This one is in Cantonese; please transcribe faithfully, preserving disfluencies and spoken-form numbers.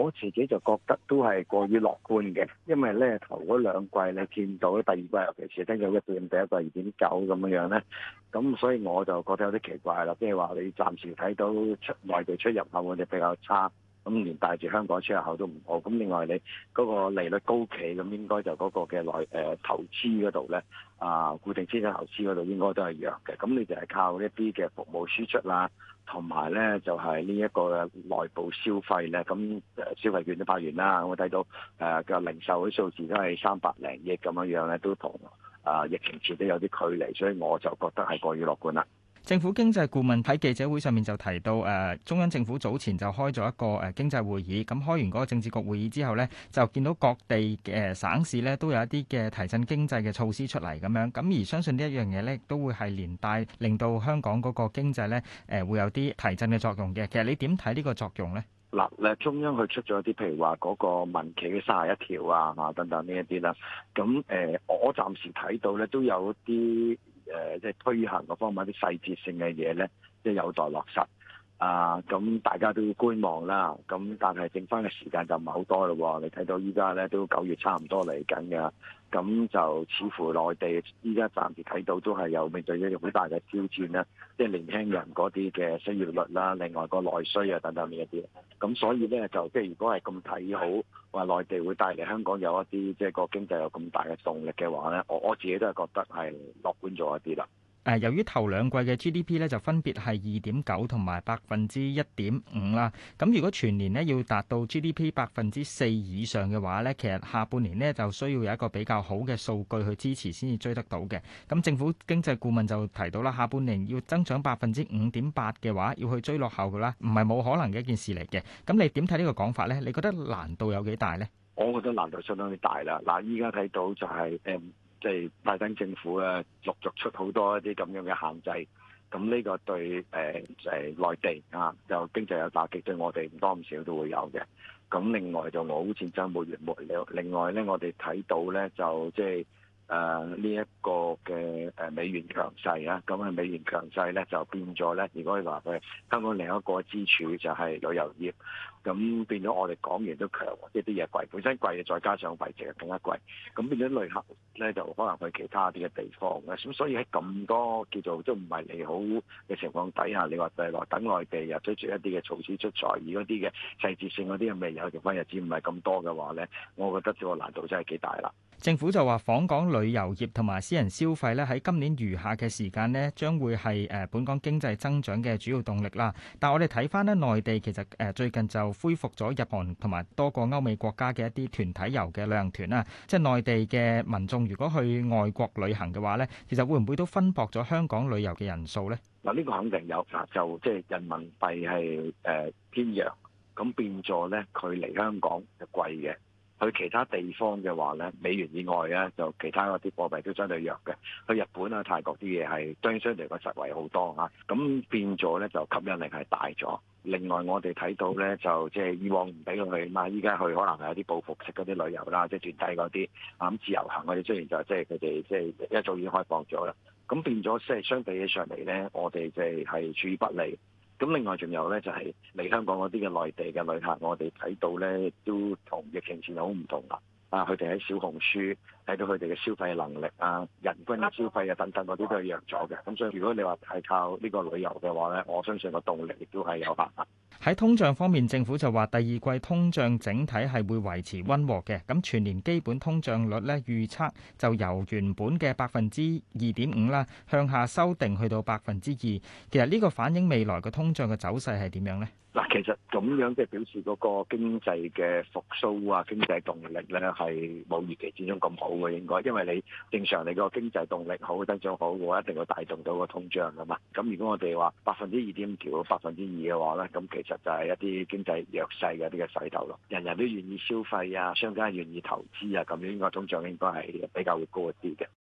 我自己就覺得都係過於樂觀嘅，因為咧頭嗰兩季你見到第二季尤其是聽到一點，第一季二點九咁樣樣咧，咁所以我就覺得有啲奇怪啦，即係話你暫時睇到出內地出入口我哋比較差。咁連帶住香港出入口都唔好，咁另外你嗰個利率高企，咁應該就嗰個嘅內誒投資嗰度咧，啊固定資產投資嗰度應該都係弱嘅，咁你就係靠一啲嘅服務輸出啦，同埋咧就係呢一個嘅內部消費咧，咁誒消費券都派完啦，我睇到誒嘅零售啲數字都係三百零億咁樣樣咧，都同啊疫情前都有啲距離，所以我就覺得係過於樂觀啦。 政府經濟顧問喺記者會上面就提到，誒、呃、中央政府早前就開咗一個誒、呃、經濟會議，咁開完嗰個政治局會議之後呢，就見到各地嘅、呃、省市呢都有一啲嘅提振經濟嘅措施出嚟咁樣，咁而相信呢一樣嘢呢，都會係連帶令到香港嗰個經濟呢誒、呃、會有啲提振嘅作用嘅。其實你點睇呢個作用呢？ 嗱，誒中央佢出咗啲譬如話嗰個民企嘅三十一條啊，啊等等呢一啲啦，咁誒、呃、我暫時睇到咧都有啲。誒即係推行嗰方面啲細節性嘅嘢咧，即係有待落實啊！咁大家都要觀望啦。咁但係剩翻嘅時間就唔係好多咯。你睇到依家咧都九月差唔多嚟緊㗎，咁就似乎內地依家暫時睇到都係有面對一個好大嘅挑戰啦。即係年輕人嗰啲嘅失業率啦，另外個內需啊等等呢一啲。咁所以咧就即係如果係咁睇好話內地會帶嚟香港有一啲即係個經濟有咁大嘅動力嘅話咧，我我自己都係覺得係樂觀咗一啲啦。 誒，由於頭兩季嘅 G D P 咧就分別係二點九同埋百分之一點五啦，咁如果全年咧要達到 G D P 百分之四以上嘅話咧，其實下半年咧就需要有一個比較好嘅數據去支持先至追得到嘅。咁政府經濟顧問就提到啦，下半年要增長百分之五點八嘅話，要去追落後嘅啦，唔係冇可能嘅一件事嚟嘅。咁你點睇呢個講法咧？你覺得難度有幾大咧？ 我覺得難度相當之大啦。嗱，依家睇到就係、是、誒。嗯即係拜登政府啊，陸續出好多一啲咁樣嘅限制，咁呢個對誒誒內地啊，就經濟有打擊，對我哋唔多唔少都會有嘅。咁另外就俄烏戰爭沒完沒了，另外咧我哋睇到咧就即係誒呢一個嘅誒美元強勢啊，咁啊美元強勢咧就變咗咧，如果你話佢香港另一個支柱就係旅遊業。咁變咗我哋港元都強，即係啲嘢貴，本身貴嘅，再加上幣值更加貴，咁變咗旅客咧就可能去其他啲嘅地方嘅，咁所以喺咁多叫做都唔係利好嘅情況底下，你話誒來等內地又推出一啲嘅措施出台，而嗰啲嘅細節性嗰啲未有，剩翻日子唔係咁多嘅話咧，我覺得個難度真係幾大啦。 政府就話訪港旅遊業同埋私人消費咧喺今年餘下嘅時間咧，將會係誒本港經濟增長嘅主要動力啦。但係我哋睇翻咧，內地其實誒最近就恢復咗日韓同埋多個歐美國家嘅一啲團體遊嘅旅行團啦。即係內地嘅民眾如果去外國旅行嘅話咧，其實會唔會都分薄咗香港旅遊嘅人數咧？ 嗱，呢個肯定有，就即係人民幣係誒偏弱，咁變咗咧佢嚟香港係貴嘅。去其他地方嘅話咧，美元以外咧，就其他嗰啲貨幣都相對弱嘅。去日本啊、泰國啲嘢係相相對個實惠好多嚇，咁變咗咧就吸引力係大咗。另外我哋睇到咧就即係以往唔俾佢去嘛，依家去可能係有啲報復式嗰啲旅遊啦，即係團體嗰啲啊咁自由行，我哋雖然就即係佢哋即係一早已經開放咗啦，咁變咗即係相比起上嚟咧，我哋即係係處於不利。咁另外仲有咧，就係嚟香港嗰啲嘅內地嘅旅客，我哋睇到咧都同疫情前好唔同啦。啊，佢哋喺小紅書睇到佢哋嘅消費能力啊、人均嘅消費啊等等嗰啲都係弱咗嘅。咁所以如果你話係靠呢個旅遊嘅話咧，我相信個動力亦都係有限。 喺通脹方面，政府就話第二季通脹整體係會維持溫和嘅。咁全年基本通脹率咧預測就由原本嘅百分之二點五啦，向下修訂去到百分之二。其實呢個反映未來嘅通脹嘅走勢係點樣呢？ 嗱，其實咁樣即係表示嗰個經濟嘅復甦啊，經濟動力咧係冇預期之中咁好嘅，應該，因為你正常你個經濟動力好、增長好嘅話，一定會帶動到個通脹噶嘛。咁如果我哋話百分之二點五調到百分之二嘅話咧，咁其實就係一啲經濟弱勢嘅啲嘅勢頭咯。人人都願意消費啊，商家願意投資啊，咁樣應該通脹應該係比較會高一啲嘅。